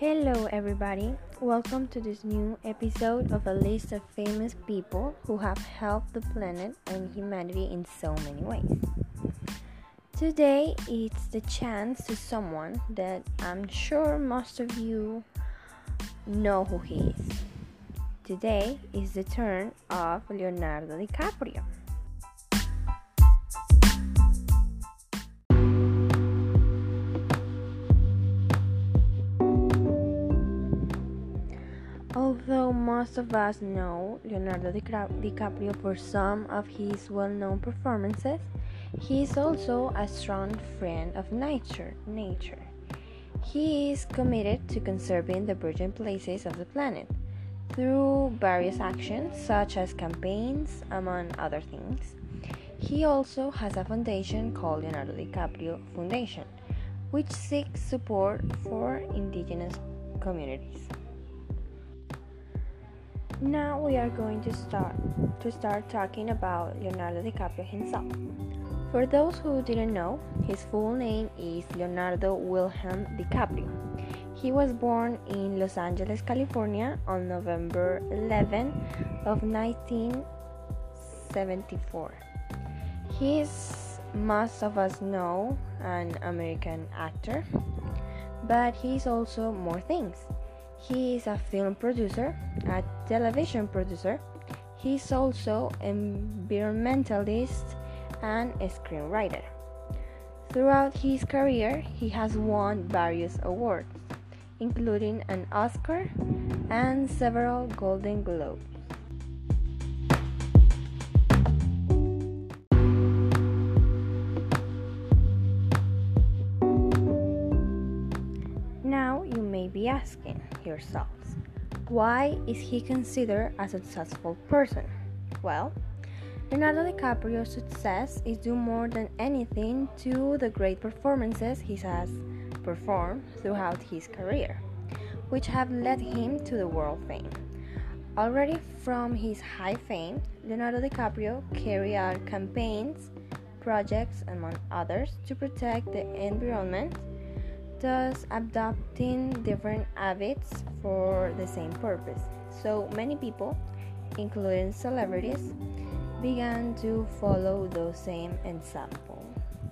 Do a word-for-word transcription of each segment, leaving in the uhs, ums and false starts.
Hello, everybody. Welcome to this new episode of a list of famous people who have helped the planet and humanity in so many ways. Today, it's the chance to someone that I'm sure most of you know who he is. Today is the turn of Leonardo DiCaprio. Although most of us know Leonardo DiCaprio for some of his well-known performances, he is also a strong friend of nature. Nature. He is committed to conserving the virgin places of the planet through various actions such as campaigns, among other things. He also has a foundation called Leonardo DiCaprio Foundation, which seeks support for indigenous communities. Now we are going to start to start talking about Leonardo DiCaprio himself. For those who didn't know, his full name is Leonardo Wilhelm DiCaprio. He was born in Los Angeles, California on November eleventh of nineteen seventy-four. He is, most of us know, an American actor, but he is also more things. He is a film producer, a television producer. He is also an environmentalist and a screenwriter. Throughout his career, he has won various awards, including an Oscar and several Golden Globes. Now you may be asking yourselves, why is he considered a successful person? Well, Leonardo DiCaprio's success is due more than anything to the great performances he has performed throughout his career, which have led him to the world fame. Already from his high fame, Leonardo DiCaprio carried out campaigns, projects, among others, to protect the environment, thus adopting different habits for the same purpose. So many people, including celebrities, began to follow those same examples.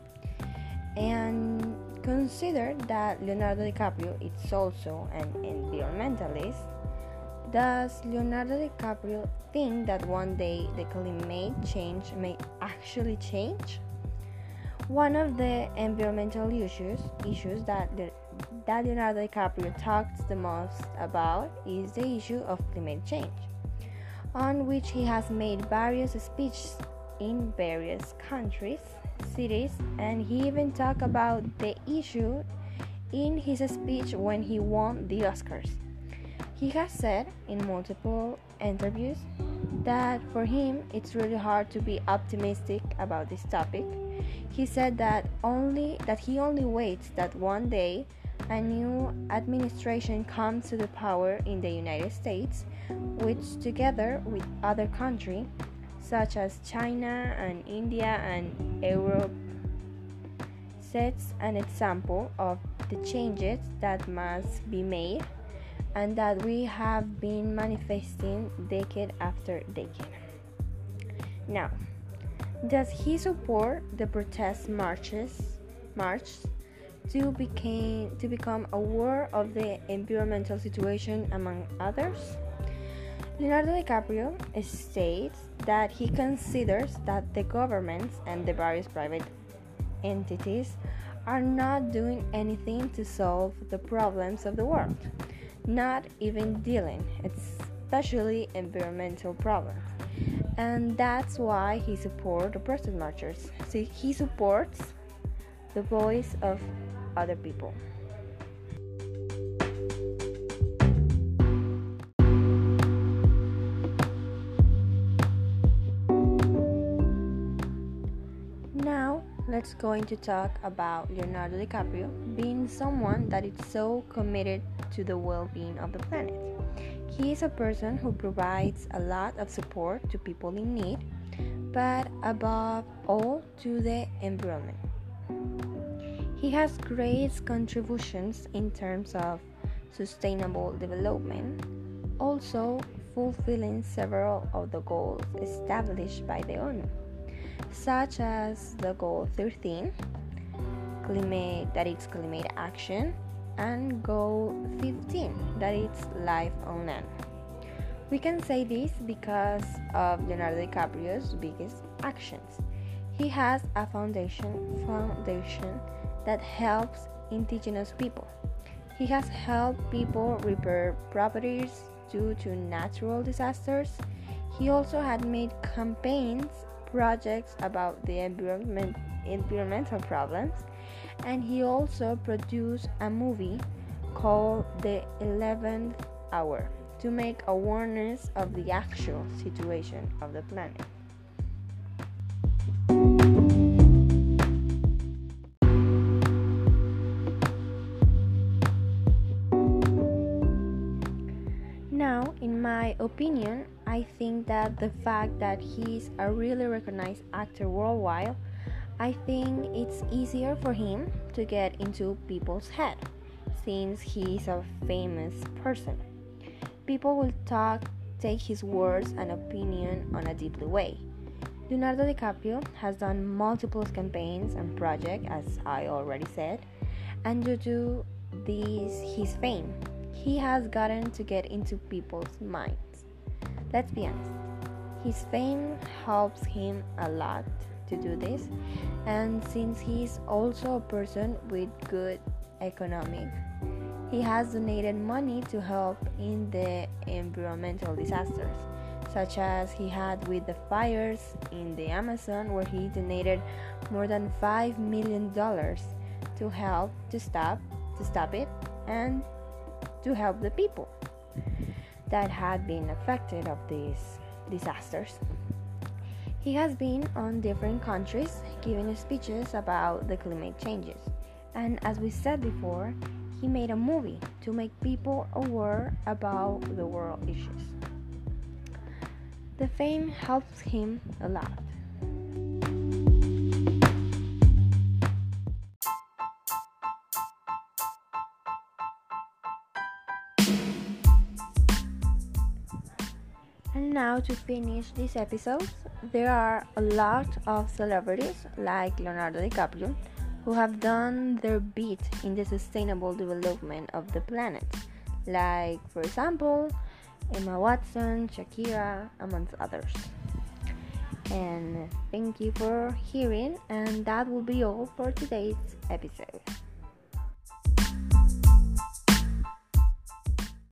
And consider that Leonardo DiCaprio is also an environmentalist. Does Leonardo DiCaprio think that one day the climate change may actually change? One of the environmental issues, issues that, the, that Leonardo DiCaprio talks the most about is the issue of climate change, on which he has made various speeches in various countries, cities, and he even talked about the issue in his speech when he won the Oscars. He has said in multiple interviews that for him it's really hard to be optimistic about this topic. He said that only that he only waits that one day a new administration comes to the power in the United States, which together with other countries such as China and India and Europe sets an example of the changes that must be made and that we have been manifesting decade after decade. Now, does he support the protest marches march to became to become aware of the environmental situation among others? Leonardo DiCaprio states that he considers that the governments and the various private entities are not doing anything to solve the problems of the world, not even dealing, especially environmental problems. And that's why he supports the protest marchers. See, he supports the voice of other people. Now, let's going to talk about Leonardo DiCaprio being someone that is so committed to the well-being of the planet. He is a person who provides a lot of support to people in need, but above all to the environment. He has great contributions in terms of sustainable development, also fulfilling several of the goals established by the O N U, such as the goal thirteen, climate, that is climate action, and goal fifteen, that is life on land. We can say this because of Leonardo DiCaprio's biggest actions. He has a foundation foundation that helps indigenous people. He has helped people repair properties due to natural disasters. He also had made campaigns, projects about the environment, environmental problems, and he also produced a movie called The eleventh Hour to make awareness of the actual situation of the planet. Now, in my opinion, I think that the fact that he's a really recognized actor worldwide, I think it's easier for him to get into people's head since he's a famous person. People will talk, take his words and opinion on a deeply way. Leonardo DiCaprio has done multiple campaigns and projects, as I already said, and due to this, his fame, he has gotten to get into people's minds. Let's be honest, his fame helps him a lot to do this, and since he's also a person with good economic, he has donated money to help in the environmental disasters, such as he had with the fires in the Amazon, where he donated more than five million dollars to help to stop to stop it and to help the people that had been affected of these disasters. He has been on different countries giving speeches about the climate changes, and as we said before, he made a movie to make people aware about the world issues. The fame helps him a lot. And now to finish this episode, there are a lot of celebrities like Leonardo DiCaprio who have done their bit in the sustainable development of the planet, like for example Emma Watson, Shakira, amongst others. And thank you for hearing, and that will be all for today's episode.